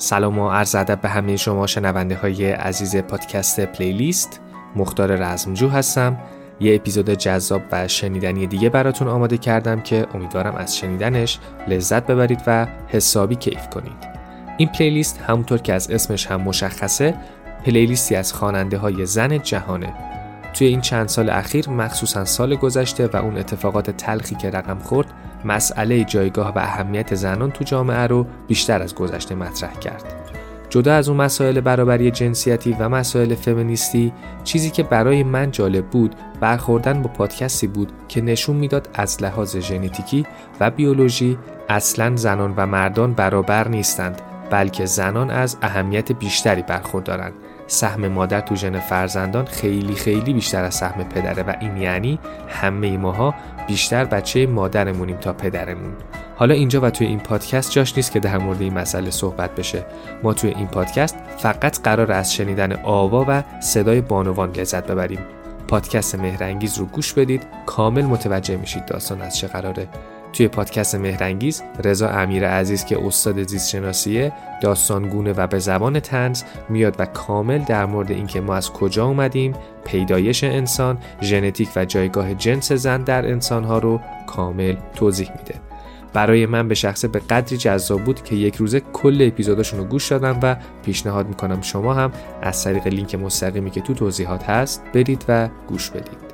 سلام و عرض ادب به همه شما شنونده های عزیز پادکست پلیلیست. مختار رزمجو هستم. یه اپیزود جذاب و شنیدنی دیگه براتون آماده کردم که امیدوارم از شنیدنش لذت ببرید و حسابی کیف کنید. این پلیلیست همونطور که از اسمش هم مشخصه پلیلیستی از خواننده های زن جهانه. توی این چند سال اخیر مخصوصا سال گذشته و اون اتفاقات تلخی که رقم خورد مسئله جایگاه و اهمیت زنان تو جامعه رو بیشتر از گذشته مطرح کرد. جدا از اون مسائل برابری جنسیتی و مسائل فمینیستی، چیزی که برای من جالب بود برخوردن با پادکستی بود که نشون میداد از لحاظ ژنتیکی و بیولوژی اصلاً زنان و مردان برابر نیستند، بلکه زنان از اهمیت بیشتری برخوردارند. سهم مادر تو ژن فرزندان خیلی بیشتر از سهم پدره و این یعنی همه ماها بیشتر بچه مادرمونیم تا پدرمون. حالا اینجا و توی این پادکست جاش نیست که در مورد این مسئله صحبت بشه. ما توی این پادکست فقط قرار از شنیدن آوا و صدای بانوان لذت ببریم. پادکست مهرانگیز رو گوش بدید، کامل متوجه میشید داستان از چه قراره. توی پادکست مهرانگیز رضا امیر عزیز که استاد زیست شناسیه، داستانگونه و به زبان طنز میاد و کامل در مورد اینکه ما از کجا اومدیم، پیدایش انسان، ژنتیک و جایگاه جنس زن در انسانها رو کامل توضیح میده. برای من به شخصه به قدری جذاب بود که یک روزه کل اپیزوداشون رو گوش دادم و پیشنهاد میکنم شما هم از طریق لینک مستقیمی که تو توضیحات هست برید و گوش بدید.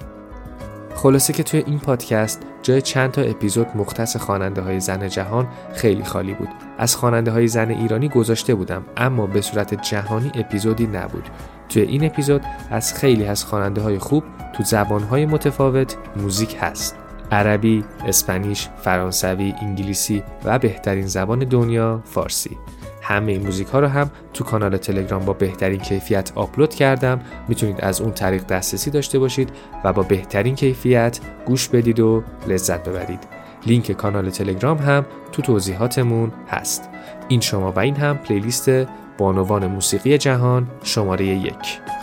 خلاصه که توی این پادکست جای چند تا اپیزود مختص خواننده های زن جهان خیلی خالی بود. از خواننده های زن ایرانی گذاشته بودم، اما به صورت جهانی اپیزودی نبود. توی این اپیزود از خیلی از خواننده های خوب تو زبان های متفاوت موزیک هست. عربی، اسپانیش، فرانسوی، انگلیسی و بهترین زبان دنیا فارسی. همه این موزیک ها رو هم تو کانال تلگرام با بهترین کیفیت آپلود کردم. میتونید از اون طریق دسترسی داشته باشید و با بهترین کیفیت گوش بدید و لذت ببرید. لینک کانال تلگرام هم تو توضیحاتمون هست. این شما و این هم پلیلیست بانوان موسیقی جهان شماره 1.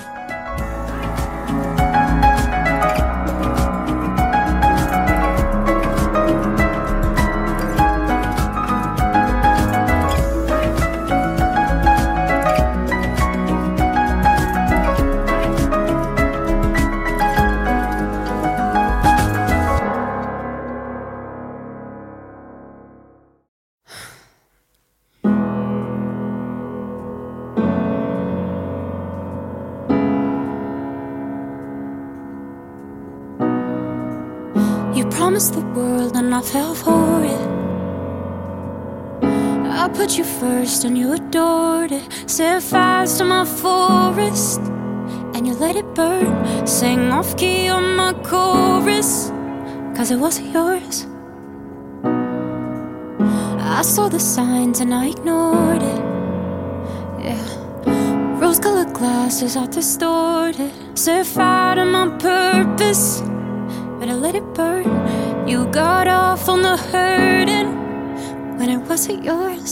Promised the world and I fell for it. I put you first and you adored it. Set fires to my forest and you let it burn. Sang off key on my chorus, cause it wasn't yours. I saw the signs and I ignored it. Yeah, rose-colored glasses are distorted. Set fire to my purpose, but I let it burn. You got off on the hurting when it wasn't yours.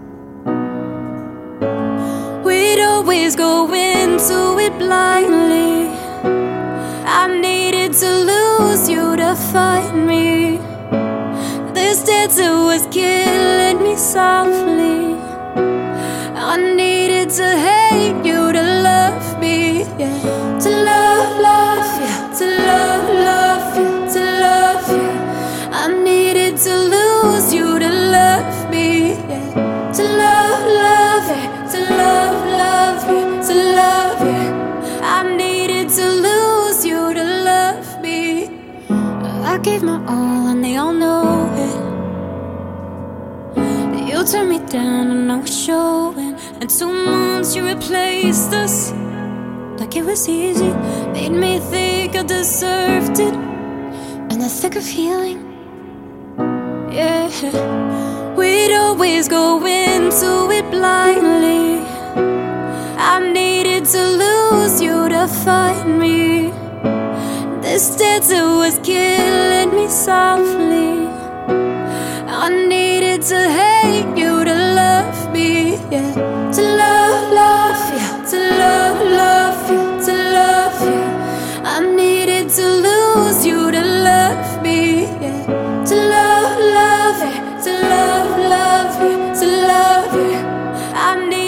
We'd always go into it blindly. I needed to lose you to find me. This dancer was killing me softly. I needed to hate you to love me, yeah. To love, love, yeah. To love, love, yeah. To love, yeah. I needed to lose you to love me, yeah. To love, love, yeah. To love, love, yeah. To love, yeah. I needed to lose you to love me. I gave my all and they all know it. You turned me down and I was showing. And 2 months you replaced us like it was easy. Made me think I deserved it. And the thick of healing, yeah. We'd always go into it blindly. I needed to lose you to find me. This dancer was killing me softly. I needed to hate you to love me, yeah. To love, love, yeah. To love, love, yeah. To love, yeah. I needed to lose you to love me, yeah. To love, love, yeah. To love, love, yeah. To love, yeah. I need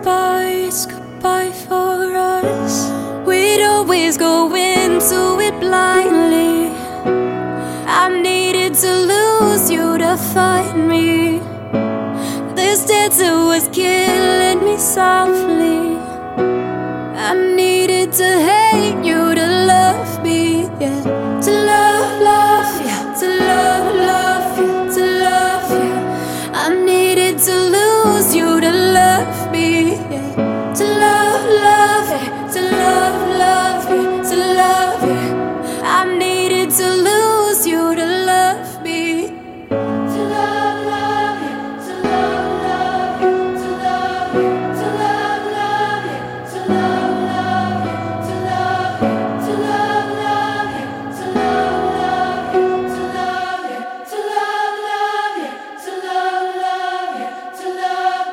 goodbye, it's goodbye for us. We'd always go into it blindly. I needed to lose you to find me. This dancer was killing me softly. I needed to hate you to love me, yeah. To love, love, yeah. To love, love, yeah. To love, yeah. I needed to lose you to love me, yeah. To love, love, yeah. To love, love, yeah. To love, yeah. I needed to lose you to love me. To love, love, yeah. To love, love, yeah. To love, yeah. To love, love, yeah. To love, love, yeah. To love, yeah. To love, love, yeah. To love, love, yeah. To love, yeah. To love, love, yeah. To love, love, yeah. To love.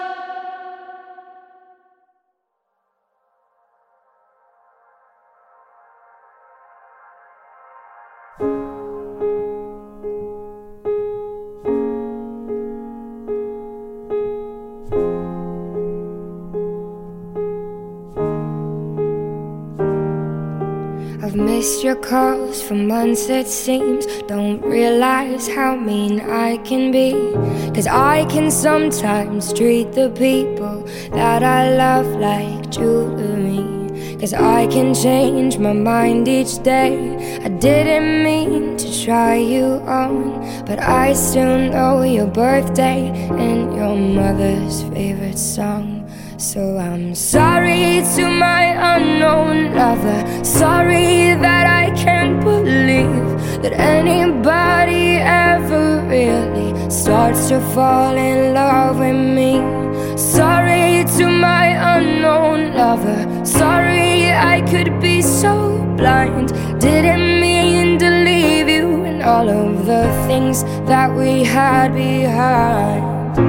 I've missed your calls for months, it seems. Don't realize how mean I can be, 'cause I can sometimes treat the people that I love like jewelry. 'Cause I can change my mind each day. I didn't mean to try you on, but I still know your birthday and your mother's favorite song. So I'm sorry to my unknown lover. Sorry that I can't believe that anybody ever really starts to fall in love with me. Sorry to my unknown lover. Sorry I could be so blind. Didn't mean to leave you and all of the things that we had behind.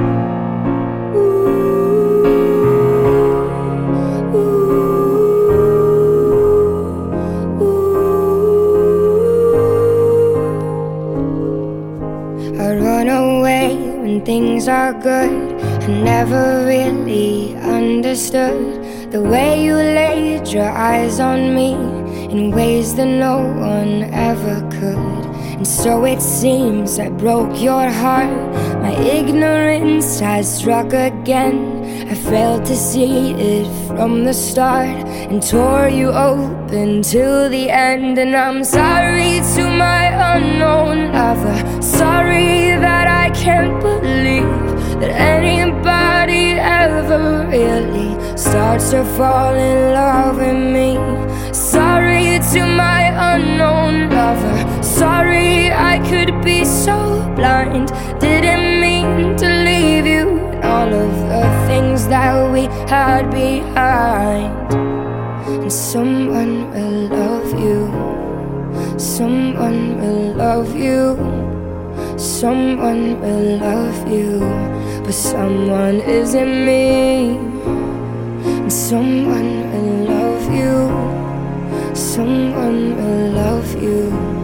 Things are good. I never really understood the way you laid your eyes on me in ways that no one ever could. And so it seems I broke your heart. My ignorance has struck again. I failed to see it from the start and tore you open till the end. And I'm sorry to my unknown lover. Sorry that I can't believe that anybody ever really starts to fall in love with me. Sorry to my unknown lover. Sorry I could be so blind. Didn't mean to leave you and all of the things that we had behind. And someone will love you. Someone will love you. Someone will love you, but someone isn't me. And someone will love you. Someone will love you.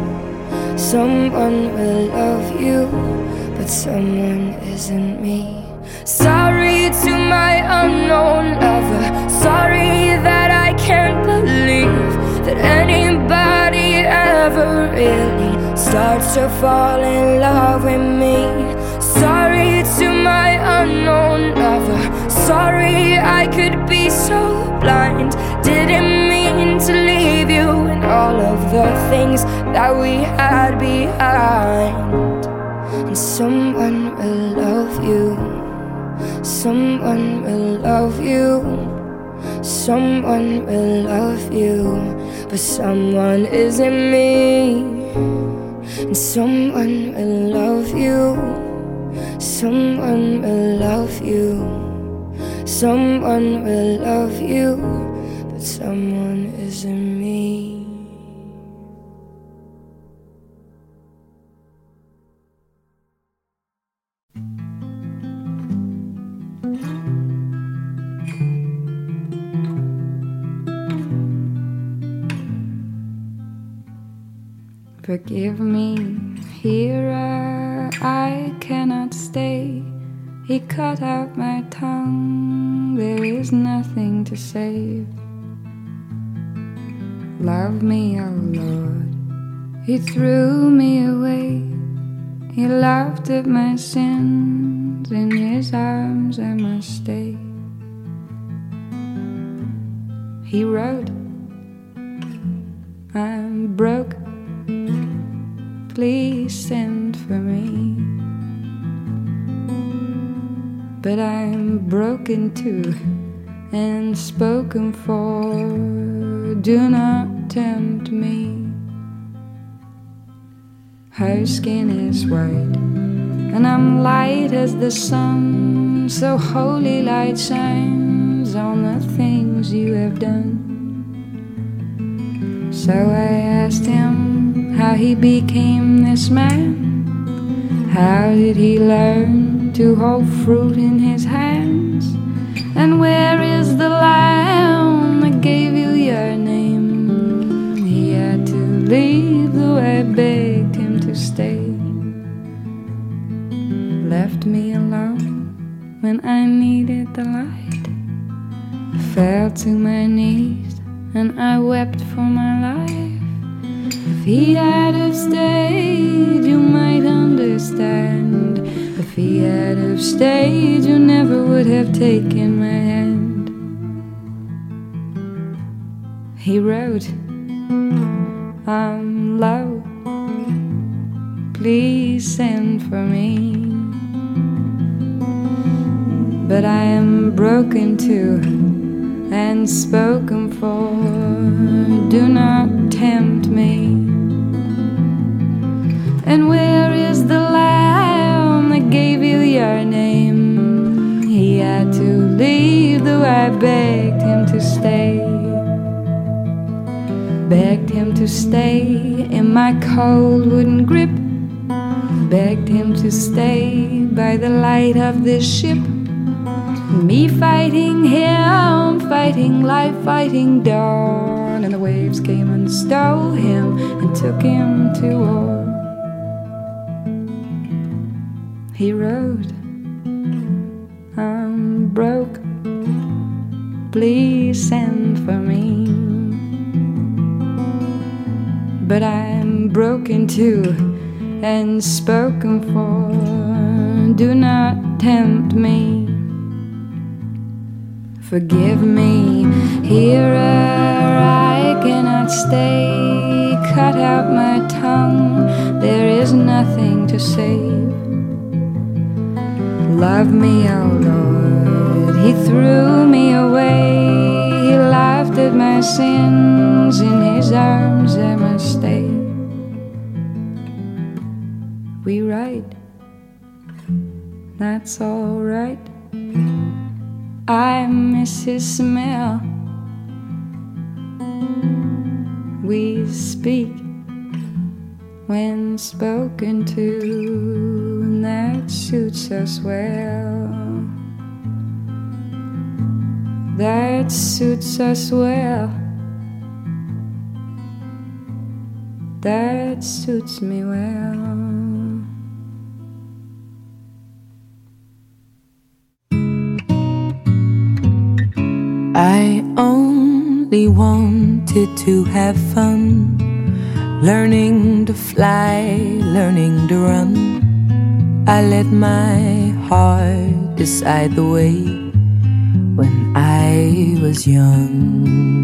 Someone will love you, but someone isn't me. Sorry to my unknown lover. Sorry that I can't believe that anybody ever really starts to fall in love with me. Sorry to my unknown lover. Sorry I could be so blind. Didn't mean to leave you and all of the things that we had behind. And someone will love you. Someone will love you. Someone will love you, but someone isn't me. And someone will love you. Someone will love you. Someone will love you, but someone isn't me. Forgive me, hearer, I cannot stay. He cut out my tongue, there is nothing to save. Love me, oh Lord. He threw me away. He laughed at my sins. In his arms I must stay. He wrote, I'm broke, please send for me. But I'm broken too and spoken for. Do not tempt me. Her skin is white and I'm light as the sun. So holy light shines on the things you have done. So I asked him how he became this man. How did he learn to hold fruit in his hands? And where is the lamb that gave you your name? He had to leave, though I begged him to stay. Left me alone when I needed the light. I fell to my knees and I wept for my life. If he had have stayed, you might understand. If he had have stayed, you never would have taken my hand. He wrote, I'm low, please send for me. But I am broken too and spoken for. Do not tempt me. And where is the lamb that gave you your name? He had to leave, though I begged him to stay. Begged him to stay in my cold wooden grip. Begged him to stay by the light of this ship. Me fighting him, fighting life, fighting dawn. And the waves came and stole him and took him to war. He wrote, I'm broke, please send for me. But I'm broken too and spoken for. Do not tempt me. Forgive me, hearer, I cannot stay. Cut out my tongue, there is nothing to save. Love me, oh Lord, he threw me away. He laughed at my sins, in his arms I must stay. We write, that's all right. I miss his smell. We speak when spoken to, and that suits us well. That suits us well. That suits me well. I only wanted to have fun, learning to fly, learning to run. I let my heart decide the way when I was young.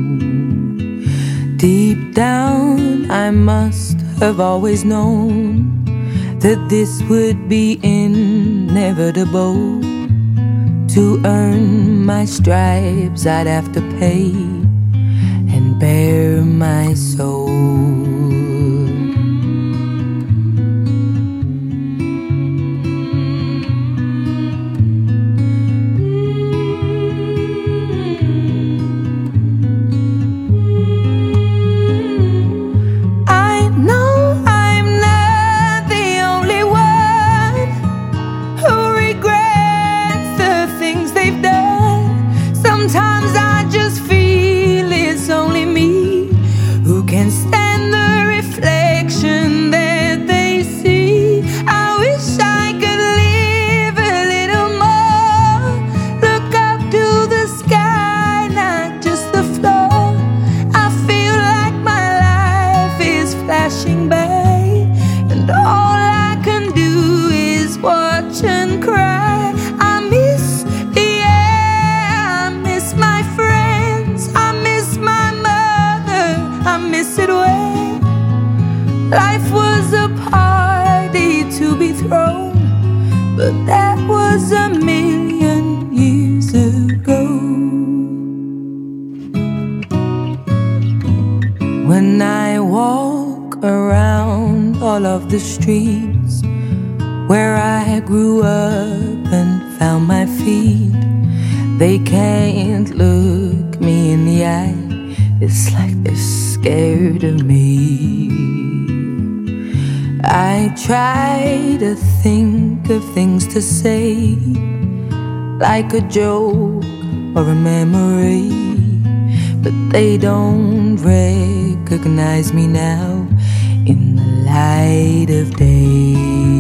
Deep down I must have always known that this would be inevitable. To earn my stripes I'd have to pay and bare my soul. Sky was a million years ago. When I walk around all of the streets where I grew up and found my feet, they can't look me in the eye. It's like they're scared of me. I try to think of things to say, like a joke or a memory, but they don't recognize me now in the light of day.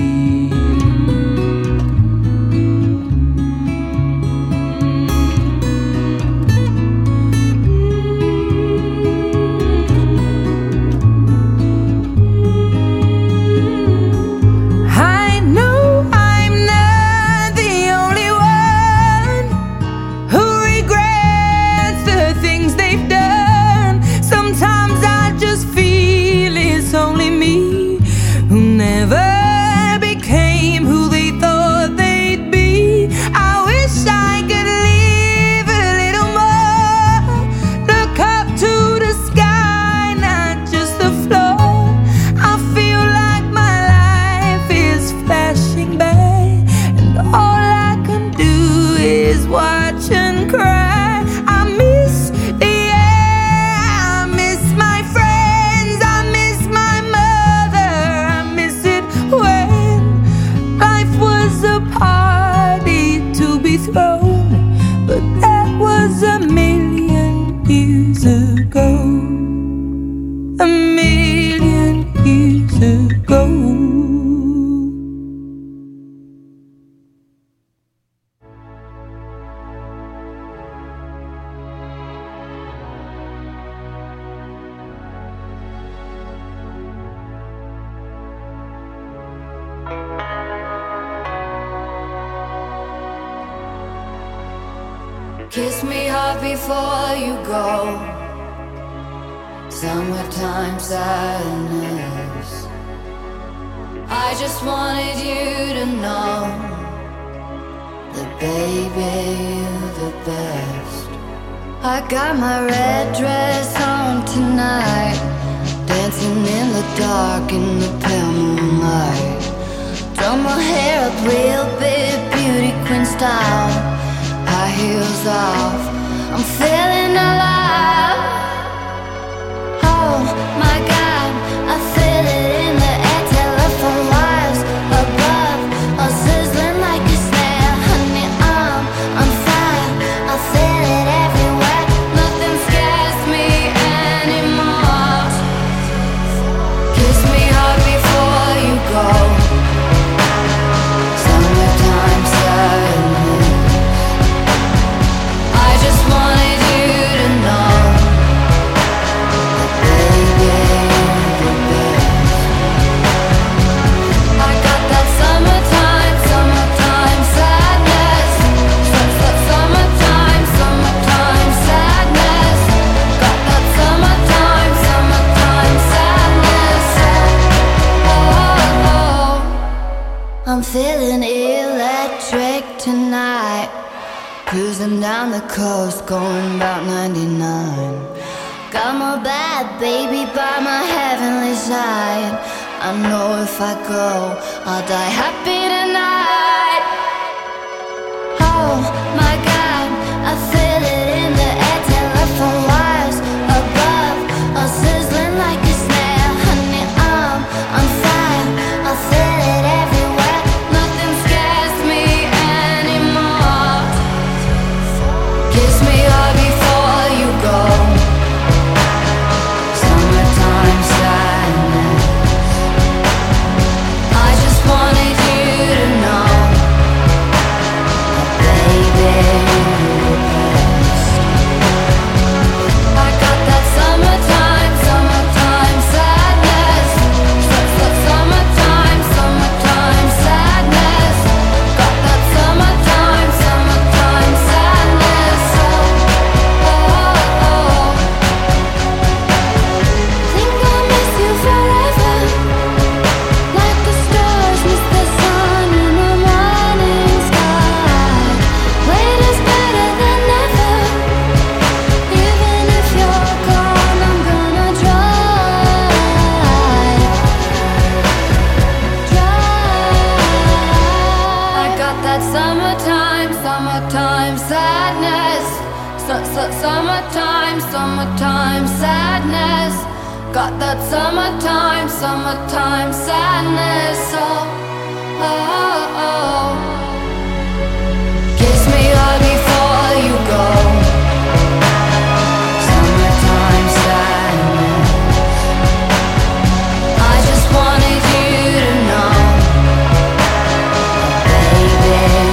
Kiss me hard before you go. Summertime sadness. I just wanted you to know that baby, you're the best. I got my red dress on tonight, dancing in the dark in the pale moonlight. Done my hair up real big, beauty queen style. High heels off, I'm feeling alive. Oh my God, I feel it in the air. Telephone wires above, all sizzling like a snare. Honey, I'm fire, I feel it everywhere. Nothing scares me anymore. Kiss me hard before you go. Summertime sadness. I just wanted you to know that baby, you're the best. I got that summertime sadness. Summertime sadness. Got that summertime sadness. Oh, I'm feeling electric tonight. Cruising down the coast, going about 99. Got my bad baby by my heavenly side. I know if I go, I'll die happy tonight. Oh my God, I feel it in the air. Telephone wires above, all sizzling like a snare. Honey, I'm fire, I feel it everywhere. Nothing scares me anymore. Kiss me hard before you go. Summertime sadness. I just wanted you Summertime, summertime sadness. Got that summertime, summertime sadness. Oh, oh, oh. Kiss me hard before you go. Summertime sadness. I just wanted you to know, baby.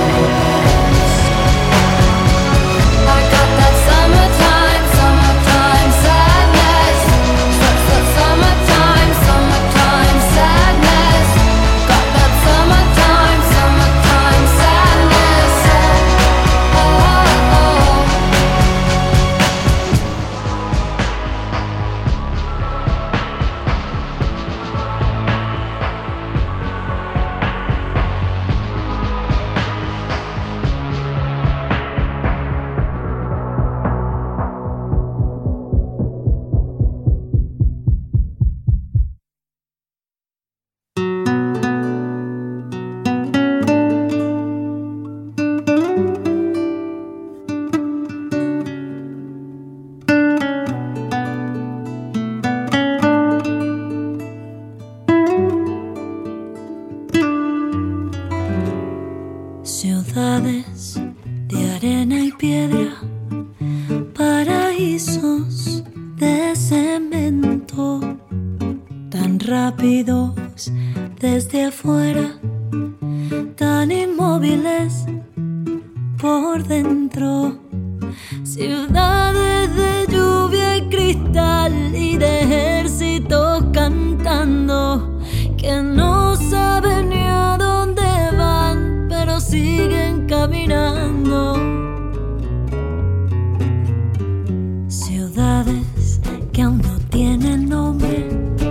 I got that summertime, summertime sadness. Summertime, summertime sadness. Got that summertime, summertime sadness. Oh, oh, oh. Ciudades de arena y piedra, paraísos de cemento, tan rápidos desde afuera, tan inmóviles por dentro. Ciudades de lluvia y cristal y de ejércitos cantando, que no saben ni a dónde van, pero siguen caminando. Ciudades que aún no tienen nombre,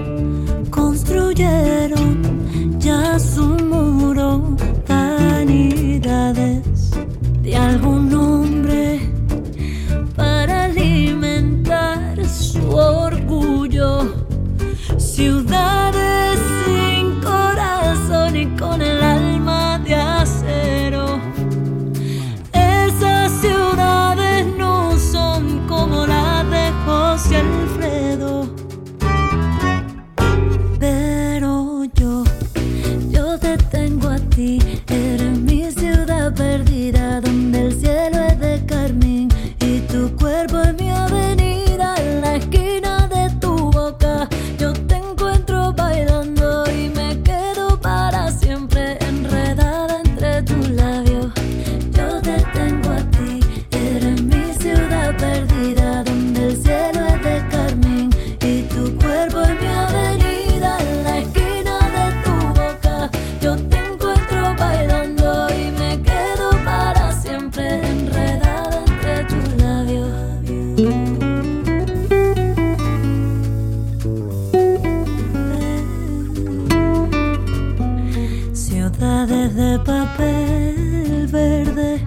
construyeron ya su muro. Vanidades de algún hombre para alimentar su orgullo. Ciudades sin corazón y con el alma de acero. Esas ciudades no son como las de José Alfredo. Pero yo te tengo a ti. Eres mi ciudad perdida, donde el cielo es de carmín y tu cuerpo es mi avenida. En la esquina de tu boca yo te encuentro bailando y me quedo para siempre enredada entre tus labios. Yo te tengo a ti, eres mi ciudad perdida, donde el cielo es de carmín y tu cuerpo es mi avenida. En la esquina de tu boca yo te encuentro bailando y me quedo para siempre enredada entre tus labios. Ciudades de papel verde,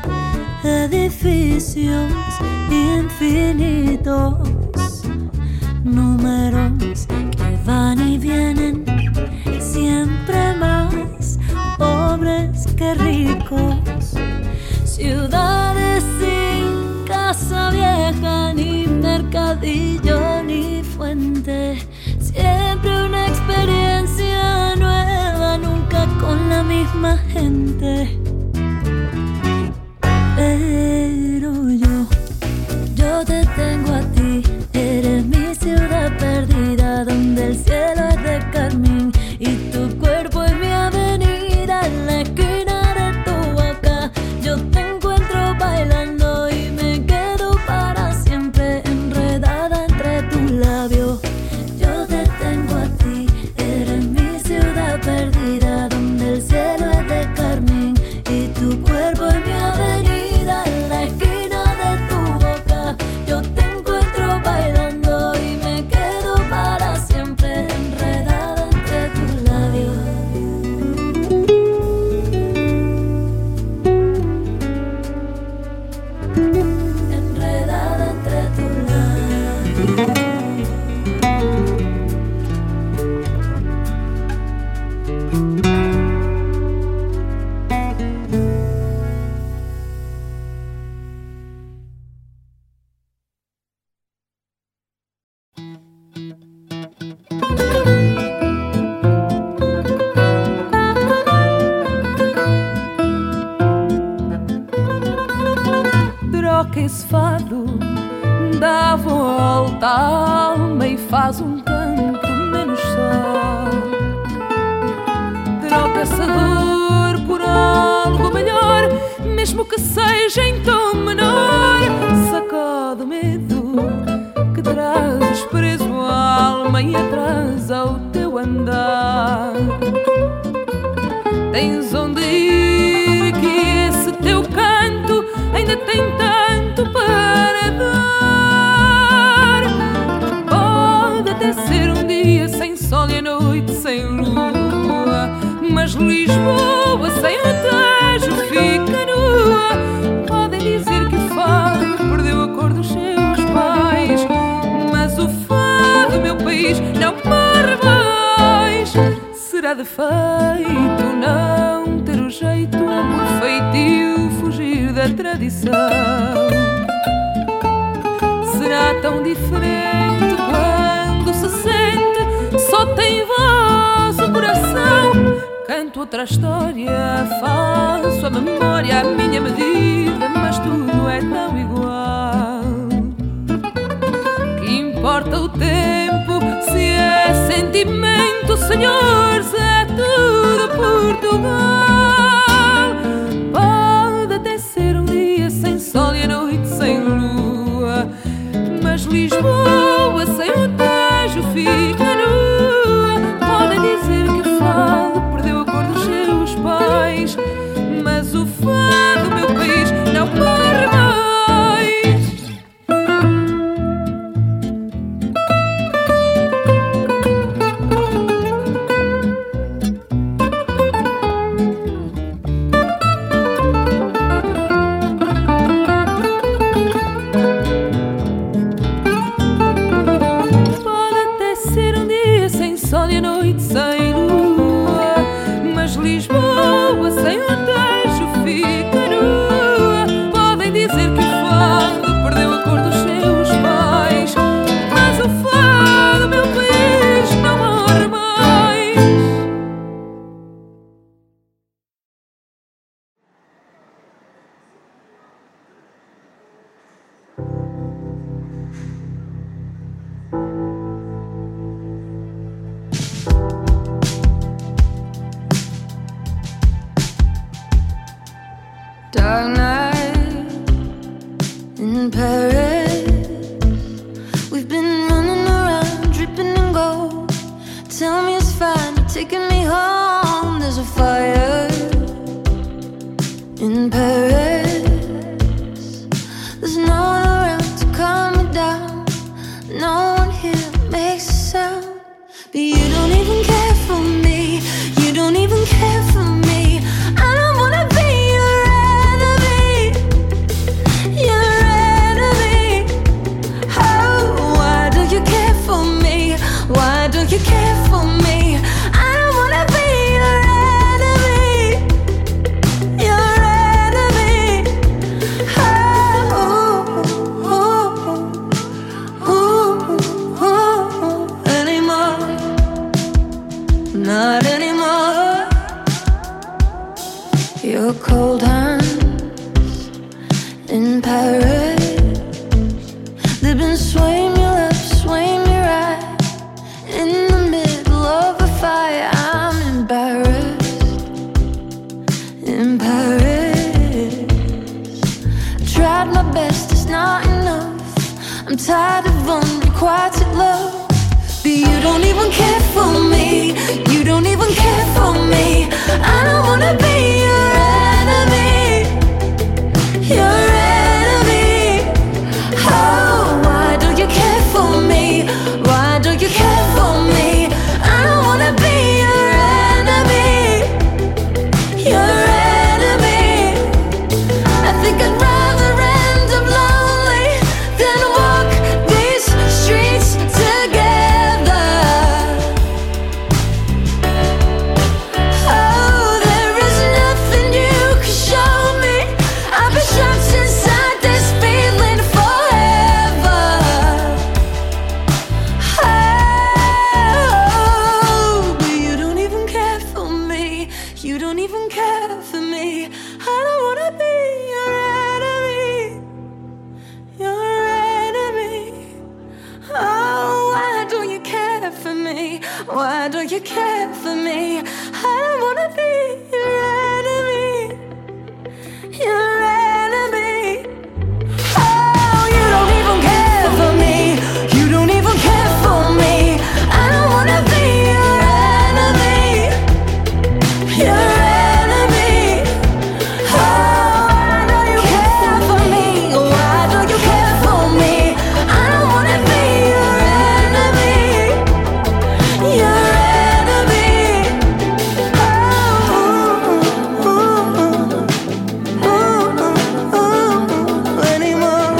edificios infinitos, números que van y vienen, siempre más pobres que ricos. Ciudades sin casa vieja, ni mercadillo, ni fuente, siempre una experiencia nueva, nunca con la misma gente. Pero yo te tengo a ti, eres mi ciudad perdida, donde el cielo es de carmín y tu cuerpo es mi avenida. En la esquina de tu boca yo te encuentro bailando y me quedo para siempre enredada entre tus labios. Yo te tengo a ti, eres mi ciudad perdida, donde el cielo es de carmín troca esse fado, dá a volta à alma e faz um canto menos só. Troca essa dor por algo melhor, mesmo que seja em tom menor. Sacode o medo que trazes preso à alma e atrasa o teu andar. Tens onde ir, que esse teu canto ainda tem tanto para dar. Pode até ser um dia sem sol e a noite sem lua, mas Lisboa sem o Tejo fica nua. Podem dizer que o fado perdeu a cor dos seus pais, mas o fado, meu país, não morre mais. Será defeito não ter o jeito, por feitio fugir da tradição. Será tão diferente quando se sente, só tem voz o coração. Canto outra história, faço a memória à minha medida, mas tudo é tão igual. Que importa o tempo, se é sentimento, senhores, é tudo Portugal. Pode até ser um dia sem sol e a noite sem lua, mas Lisboa sem o Tejo fica nua. Podem dizer que o fado perdeu a cor dos seus pais, mas o fado, meu país, não morre mais. Dark night in Paris, we've been running around, dripping in gold. Tell me it's fine, you're taking me home. There's a fire in Paris, there's no one around to calm me down. No one here makes a sound, but you don't even care for me. You don't even care for me. I don't wanna be why don't you care for me? I don't wanna be your enemy, your enemy. Anymore, not anymore. Your cold hands in Paris, they've been swaying me left, swaying me right. In the middle of a fire, I'm embarrassed in Paris. Tried my best, it's not enough. I'm tired of unrequited love, but you don't even care for me. You don't even care for me. I don't wanna be your enemy, your enemy. Oh, why don't you care for me? Why don't you care for me? I don't wanna be your enemy, your enemy. I think I'd rather end up lonely than walk these streets together. Oh, there is nothing you care for me? I don't wanna be your enemy, your enemy. Oh, you don't even care for me. You don't even care for me. I don't wanna be your enemy, your enemy. Oh, why do you care for me? Why do you care for me? I don't wanna be your enemy, your enemy. Anymore,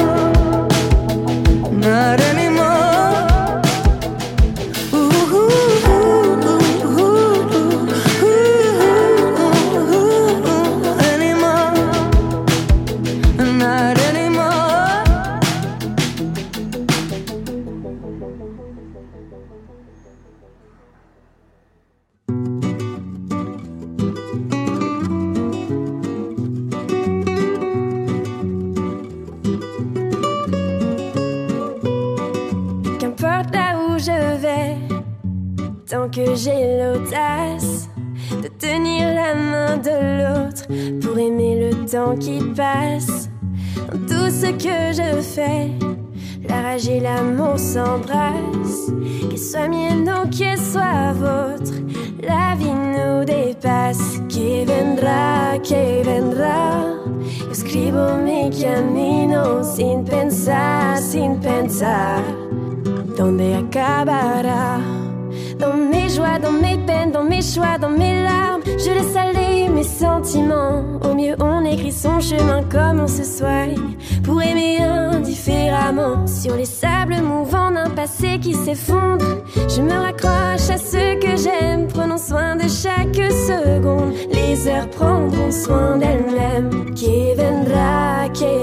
not anymore. Anymore, not anymore. Qu'importe là où je vais, tant que j'ai l'audace de tenir la main de l'autre pour aimer le temps qui passe. Dans tout ce que je fais, la rage et l'amour s'embrassent. Qu'elle soit mienne ou qu'elle soit vôtre, la vie nous dépasse. Qui vendrà. Io scrivo mi cammino sin pensar donde acabará. Dans mes joies, dans mes peines, dans mes choix, dans mes larmes, je laisse aller mes sentiments. Au mieux on écrit son chemin comme on se soigne pour aimer indifféremment. Sur les sables mouvants d'un passé qui s'effondre, je me raccroche à ce que j'aime. Prenons soin de chaque seconde, les heures prendront soin d'elles-mêmes. Qui vendrà.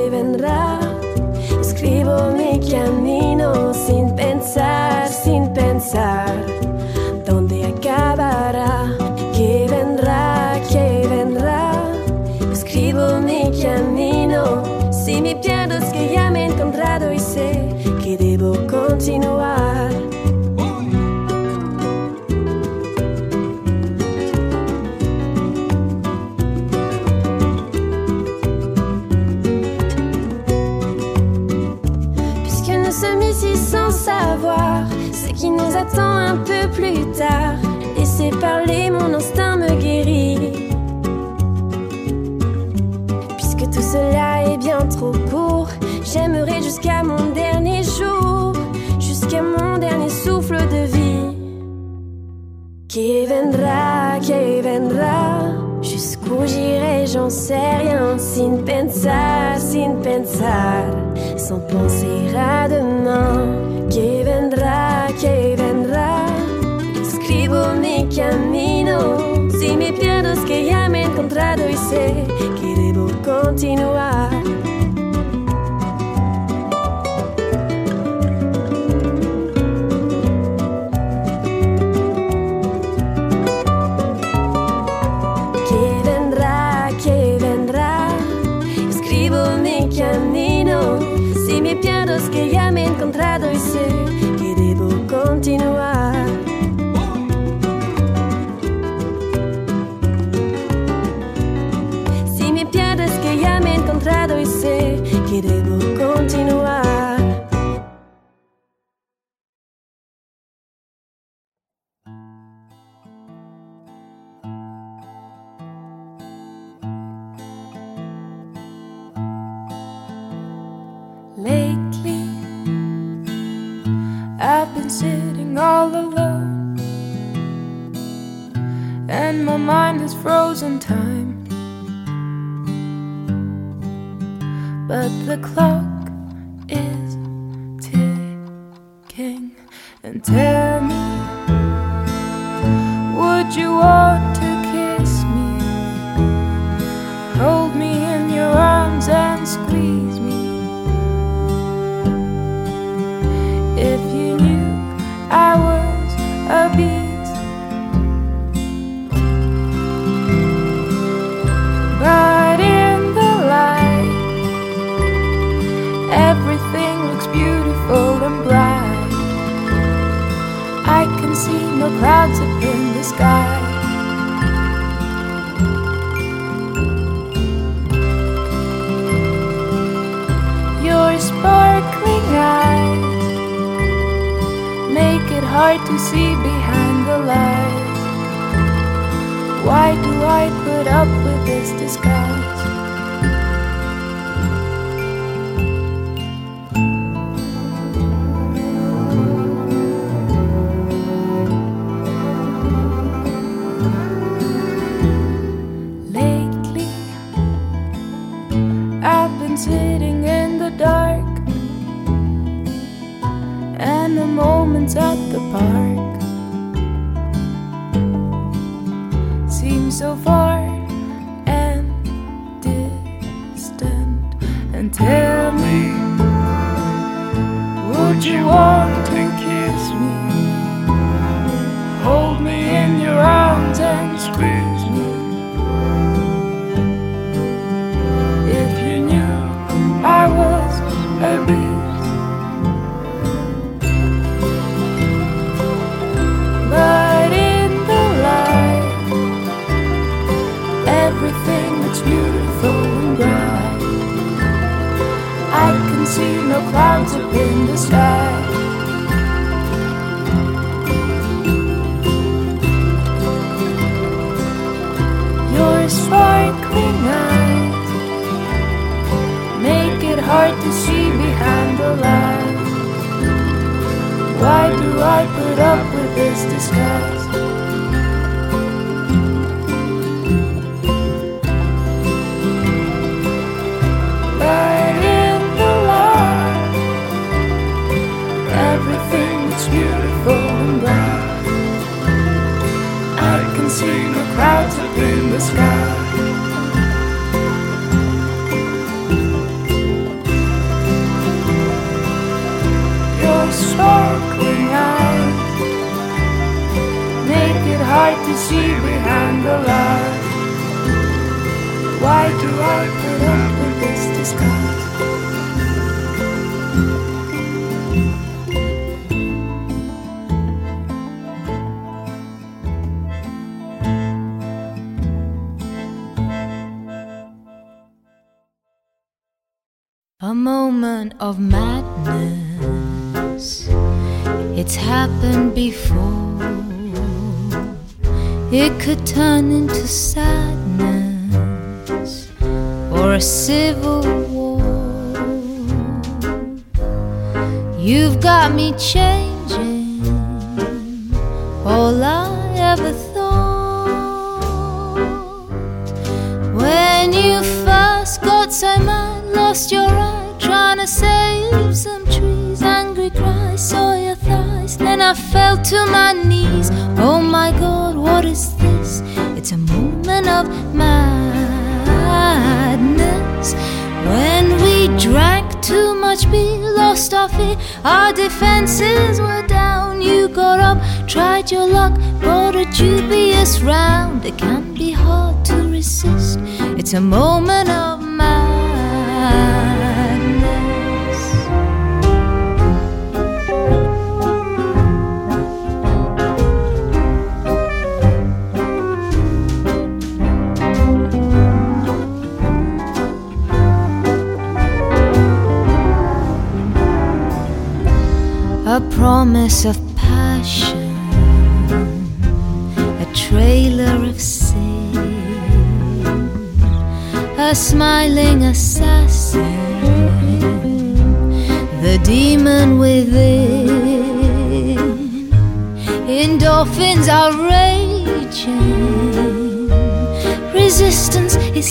Scrivo mi cammino sin pensar donde acabará. Que vendrá. Scrivo mi cammino. Si me pierdo es que ya me he encontrado y sé que debo continuar. Puisque nous sommes ici sans savoir ce qui nous attend un peu plus tard, laissez parler, mon instinct me guérit. Puisque tout cela est bien trop court, j'aimerais jusqu'à mon dernier jour, jusqu'à mon dernier souffle de vie. Qui vendrá. Jusqu'où j'irai, j'en sais rien. Sin pensar, sans penser à demain. Qui vendrá. Escribo mi camino. Si me pierdo es que ya me he encontrado y sé que debo continuar. Que vendrá. Escribo mi camino. Si me pierdo es que ya me he encontrado y sé que debo continuar. Si me pierdo es que ya me he encontrado y sé que debo continuar. Lately, I've been sitting all alone, and my mind has frozen time. But the clock is ticking. And tell me, would you want to kiss me? Hold me in your arms and squeeze me. If you knew I was a beast, but in the light, everything looks beautiful and bright. I can see no clouds up in the sky. Your sparkling eyes make it hard to see behind the lies. Why do I put up with this disguise? Lately, I've been sitting in the dark, and the moments at the park seem so far and distant. And tell me, would you want to kiss me? Hold me in your arms and squeeze me. If you knew I was a beast. But in the light, everything looks beautiful and bright. I can see no clouds up in the sky. Your sparkling eyes make it hard to see behind the lies. Why do I put up with this disguise? But in the light, everything is beautiful and bright. I can see no clouds up in the sky. Your sparkling eyes make it hard to see behind the lies. Why do I put up with this disguise? A moment of madness, it's happened before. It could turn into sadness or a civil war. You've got me changing all I ever thought. When you first got so mad, lost your eye, trying to save some trees. Angry cries, saw your thighs, then I fell to my knees. Oh my God, what is this? It's a moment of madness. When we drank too much beer, lost our fear, our defenses were down. You got up, tried your luck, brought a dubious round. It can be hard to resist. It's a moment of madness. A promise of passion, a trailer of sin, a smiling assassin, the demon within. Endorphins are raging, resistance is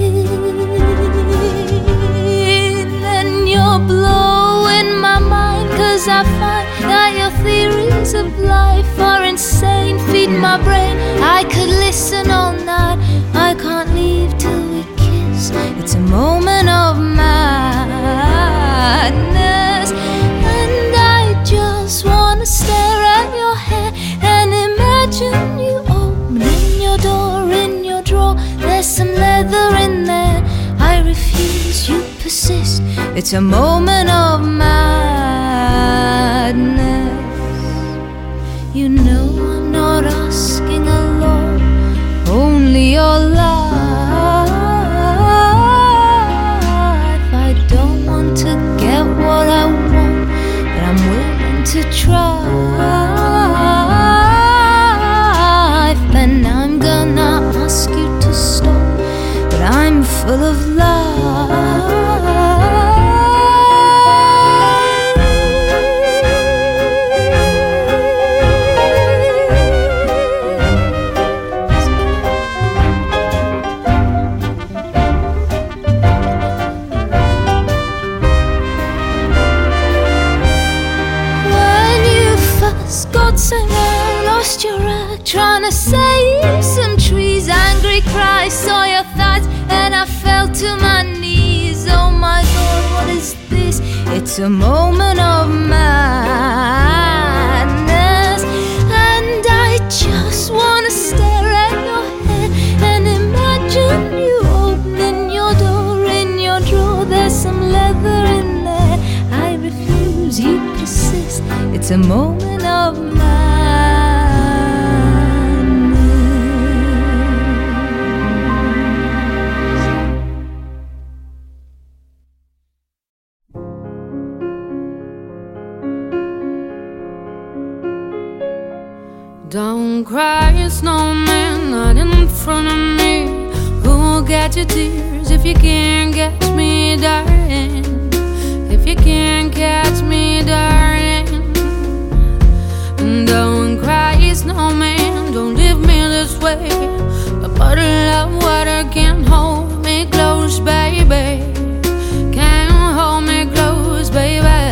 thin, and you're blowing my mind, 'cause I find that your theories of life are insane. Feed my brain, I could listen all night. I can't leave till we kiss. It's a moment of madness, and I just wanna stare at your hair and imagine you opening your door. In your drawer, there's some leather in there. I refuse, you persist. It's a moment of madness. You know I'm not asking a lot, only your life. I don't want to get what I want, but I'm willing to try. And I'm gonna ask you to stop, but I'm full of life. Lost your rag, trying to save some trees. Angry cries, saw your thoughts, and I fell to my knees. Oh my God, what is this? It's a moment of madness, and I just wanna stare at your head and imagine you opening your door. In your drawer there's some leather in there. I refuse, you persist. It's a moment of madness. Don't cry, snowman, not in front of me. Who'll get your tears if you can't catch me, darling? If you can't catch me, darling. Don't cry, snowman, don't leave me this way. A bottle of water can't hold me close, baby. Can't hold me close, baby.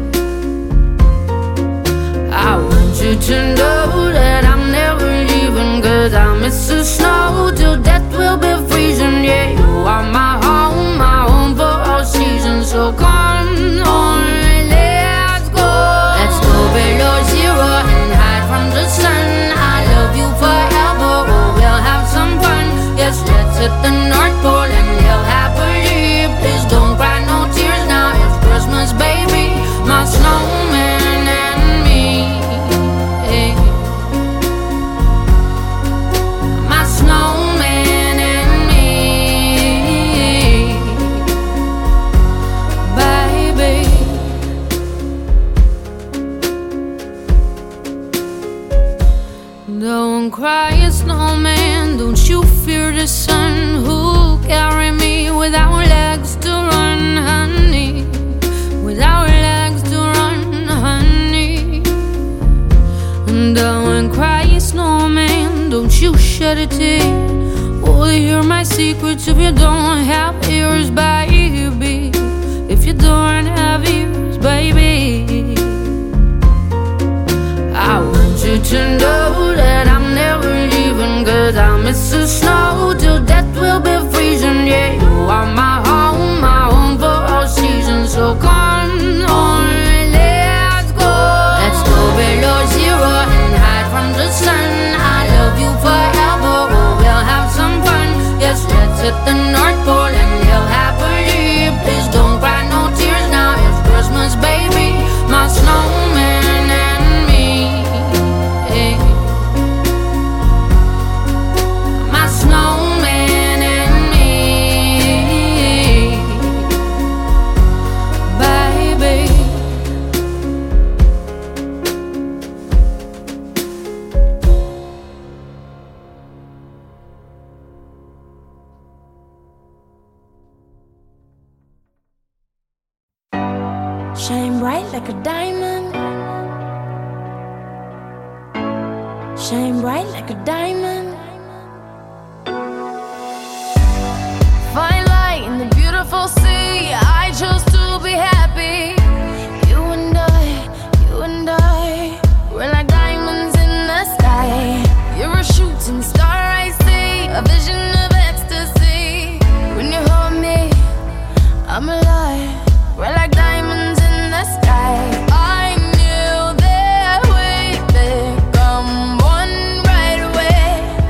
I want you to know that I'm never leaving, 'cause I miss the snow till death will be freezing. Yeah, you are my home for all seasons. So come on, let's go. Let's go below zero and hide from the sun. I love you forever, oh, we'll have some fun. Yes, let's hit the North Pole and live happily. Please don't cry, no tears now, it's Christmas, baby. My snowman and me, hey. My snowman and me, baby. Don't cry, snowman, don't you fear the sun. Who'll carry me without legs to run, honey? Without legs to run, honey. Don't cry, snowman, don't you shed a tear. Will you hear my secrets if you don't have ears, baby? If you don't have ears, baby. I want you to know that I'm never leaving, 'cause I miss the snow till death will be freezing. Yeah, you are my home for all seasons. So come on, let's go. Let's go below zero and hide from the sun. I love you forever, oh, we'll have some fun. Yes, let's hit the North Pole and live happily. Please don't cry, no tears now, it's Christmas, baby. My snowman and me, hey. My snowman and me, baby. Shine bright like a diamond. Shine bright like a diamond. Find light in the beautiful sea. I chose to be happy. You and I, we're like diamonds in the sky. You're a shooting star I see, a vision of ecstasy. When you hold me, I'm alive. We're like diamonds in the sky. I knew that we'd become one right away.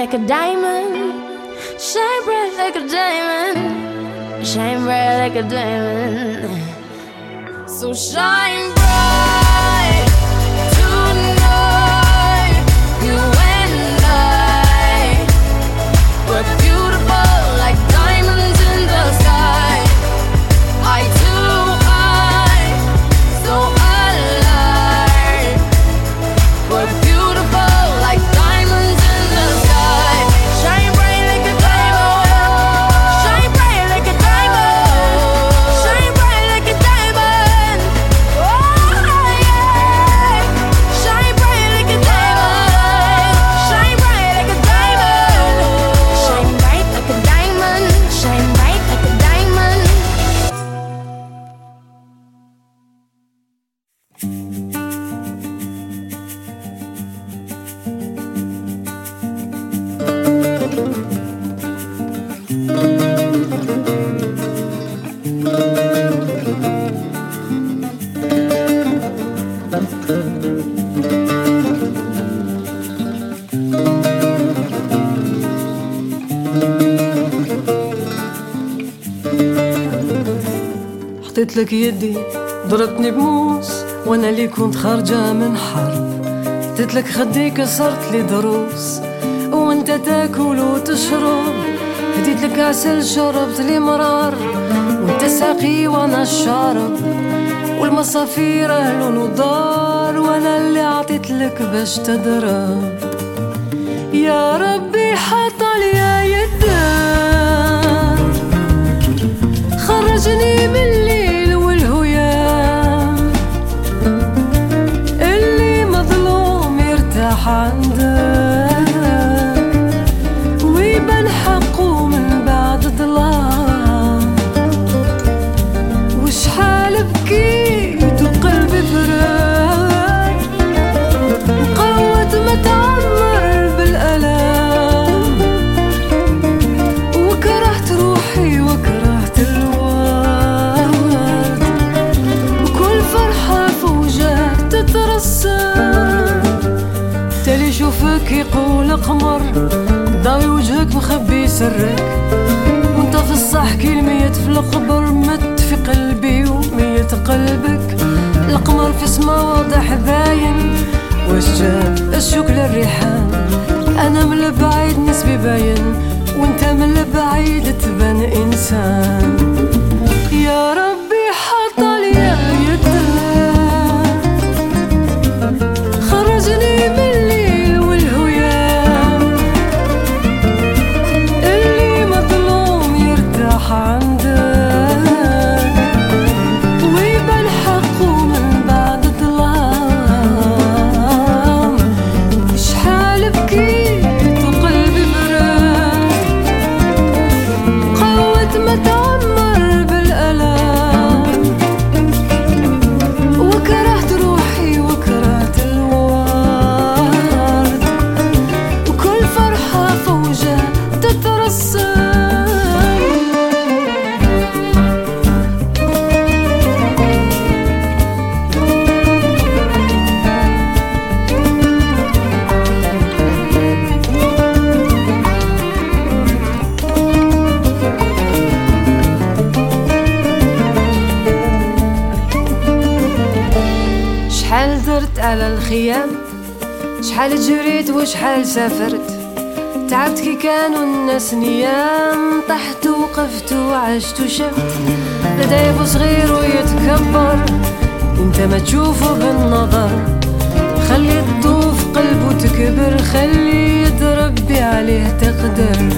like a diamond. Shine bright like a diamond. Shine bright like a diamond. So shine bright tonight. You and I were beautiful like diamonds in the sky. Eye to eye, so alive. We're beautiful like diamonds in the sky. Shine bright like a diamond. Shine bright like a diamond. Shine bright like a diamond. Oh yeah. Shine bright like a diamond. Shine bright like a diamond. Shine bright like a diamond. Shine bright like a diamond. حطيت لك يدي ضربتني بموس وانا اللي كنت خارجة من حرب. حطيت لك خدي كسرت لي ضروس وانت تاكل وتشرب. هديت لك عسل شربت لي مرار وانت ساقي وانا الشارب. والمصافير اهل ودار وانا اللي عطيت لك باش تضرب. يا ربي حط لي يدار خرجني من الليل والهيام. اللي مظلوم يرتاح عندك ويبان حقه من بعد ظلام. وشحال بكيت وقلبي فرق وقوت ما تعمر بالألام. وكرهت روحي وكرهت الورد وكل فرحة فوجات تترسم. تالي يشوفك يقول قمر ضاوي وجهك مخبي سرك. وانت في الصح كي ميت في القبر مت في قلبي وميت قلبك. القمر في سما واضح باين واش جاب الشوك للريحان. انا من البعيد نسبي باين وانت من البعيد تبان انسان. يا ربي حط لي يدك خرجني من الليل والهيام. اللي مظلوم يرتاح عندك ويبان حقه من بعد ظلام. شحال بكيت وقلبي مرق قوت ما تعمر بالألام. وكرهت روحي وكرهت الورد وكل فرحة فوجة تترسم. شحال درت على الخيام شحال جريت وشحال سافرت. تعبت كي كانوا الناس نيام. طحت وقفت وعشت وشفت لدايب صغير ويتكبر. انت ما تشوفه بالنظر خلي تطوف قلبه تكبر. خلي تربي عليه تقدر.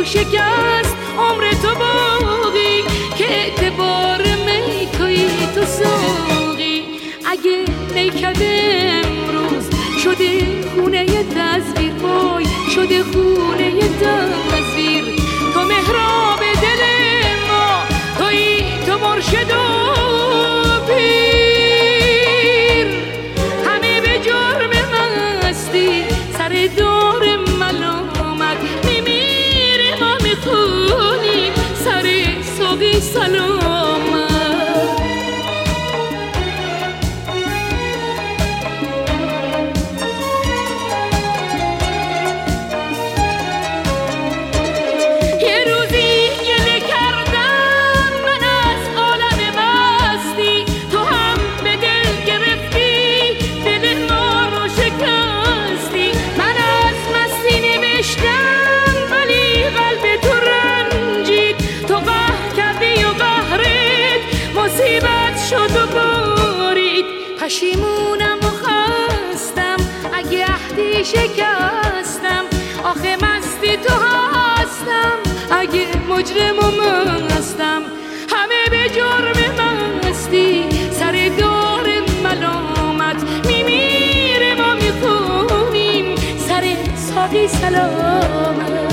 شکست عمر تو باقی که اعتبار میکایی تو ساقی. اگه نیکد امروز شده خونه تصویر، وای شده خونه تصویر. تو محراب دل ما، تویی تو مرشد و پیر. همه به جرم مستی سر دار ملامت میمیره، ما میخونیم سر ساقی سلامت. پشیمونم و خستم اگه عهدی شکستم، آخه مستی تو هستم اگه مجرم و مستم. همه به جرم مستی سر دار ملامت میمیره، ما میخونیم سر ساقی سلامت.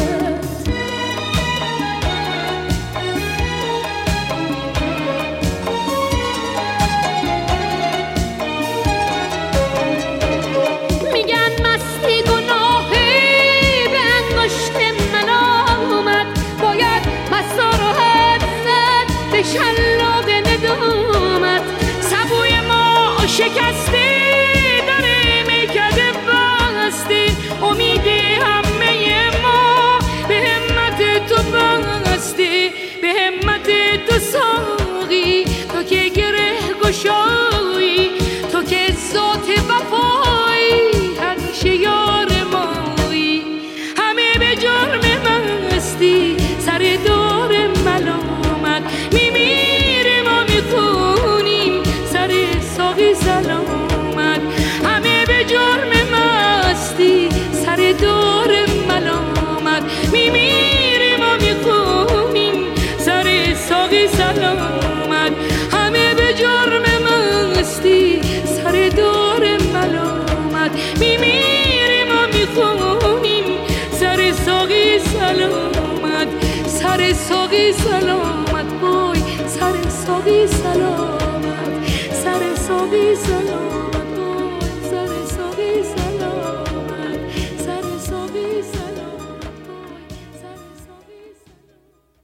شلاق ندامت سبوی ما شکسته، داره میکده بسته. امید همه ما به همت تو بسته، به همت تو ساقی. تو که گره گشایی، تو که ذات وفایی، همیشه یار مایی. همه به جرم مستی سر دار ملامت میمیره، ما میخونیم سر ساقی سلامت. همه به جرم مستی سر دار ملامت میمیره، ما میخونیم سر ساقی سلامت. همه به جرم مستی سر دار ملامت میمیره، ما میخونیم سر ساقی سلامت. سر ساقی سلامت، وای سر ساقی سلامت، سر ساقی سلامت، وای سر ساقی سلامت، سر ساقی سلامت، وای سر ساقی سلامت.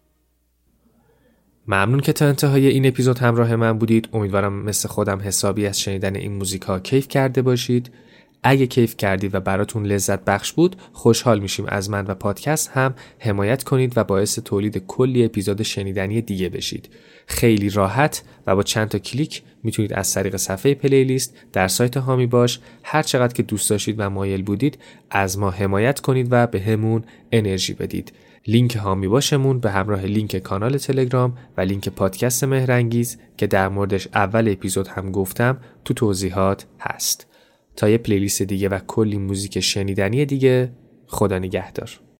ممنون که تا انتهای این اپیزود همراه من بودید. امیدوارم مثل خودم حسابی از شنیدن این موزیک ها کیف کرده باشید. اگه کیف کردید و براتون لذت بخش بود، خوشحال میشیم از من و پادکست هم حمایت کنید و باعث تولید کلی اپیزود شنیدنی دیگه بشید. خیلی راحت و با چند تا کلیک میتونید از طریق صفحه پلیلیست در سایت هامی باش هر چقدر که دوست داشتید و مایل بودید از ما حمایت کنید و به همون انرژی بدید. لینک هامی باشمون به همراه لینک کانال تلگرام و لینک پادکست مهرانگیز که در موردش اول اپیزود هم گفتم تو توضیحات هست. تا یه پلیلیست دیگه و کلی موزیک شنیدنی دیگه، خدا نگهدار.